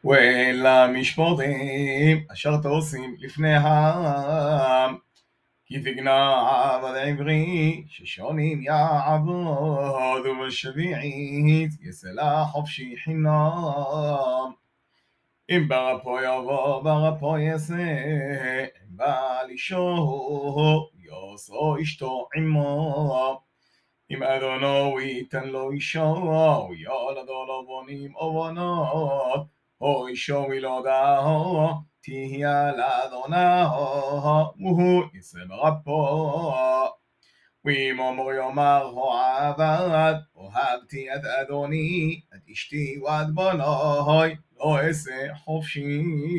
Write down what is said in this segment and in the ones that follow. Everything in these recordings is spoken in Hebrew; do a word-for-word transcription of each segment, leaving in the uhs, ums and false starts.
ולמשפטים אשר תעושים לפני העם, כי תגנע עבד עברי ששונים יעבוד, ובשביעית יסלה חופשי חינם. אם ברפו יבוא ברפו יעשה, אם בעל אישו יעשו אשתו עמו. אם אדונו ייתן לו אישו, ילדו לו בנים או בנות, או אישו ילודהו, תהיה לאדונו, והוא יישא ברפו. ואם אמור יאמר העבד, אוהבתי את אדוני, את אשתי ואת בנוי, לא אעשה חופשי.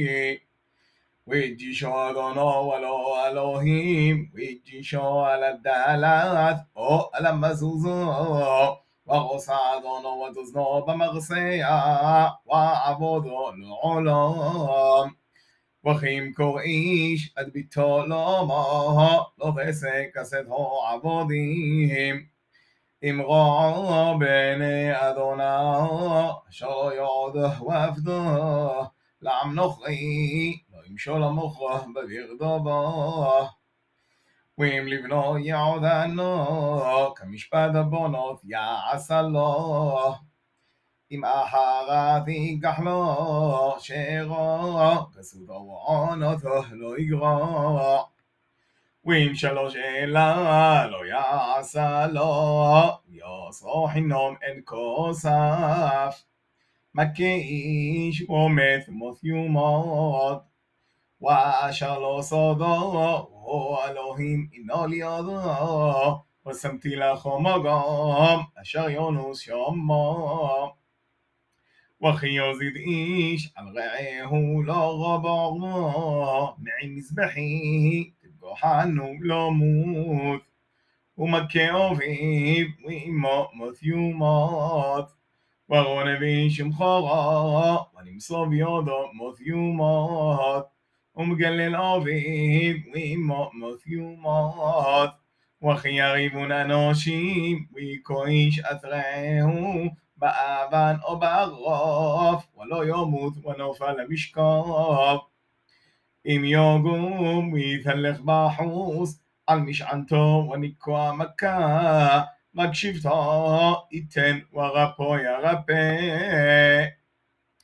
ויג'ישו אדונו ולא אלוהים, ויג'ישו על הדלת או על המזוזו, ועושה אדונו ותזנו במרסיה, ועבודו לעולם. וכי ימכור איש את ביתו לאמו, לא תעשה כסתו עבודים. אמרו בעיני אדונו, אשר לא יעודו ועבדו, לעם נוכרי, לא ימשול המוכרו בגרדו בו. ואם לבנו יעודנו, כמשפט הבונות יעשה לו. אם אחרת ייקח לו שרו, כסותו ועונתו לא יגרע. ואם שלוש אלה לא יעשה לו, יעשו חינום אין כוסף. מכה איש ומת מות יומות, ואשר לא סודו, הוא אלוהים אינו לידו, ושמתי לכו מגום, אשר יונוס שמו. וכי יוזיד איש על רעהו לא רבו, מעם מזבחי תפגוחנו לא מות. ומכה אביו ואמו מות יומות, ורונה באיש ומחורו, ונמסור בידו מות יומות. ומגלל אביו ואמו מות יומות. וכי יריבון אנושים, ויכו איש את רעהו, באבן או בערוף, ולא ימות ונופל למשכב. אם יגום ויתהלך בחוץ, על משענתו וניקוע מכה, מקשיבתו ייתן ורפו ירפא.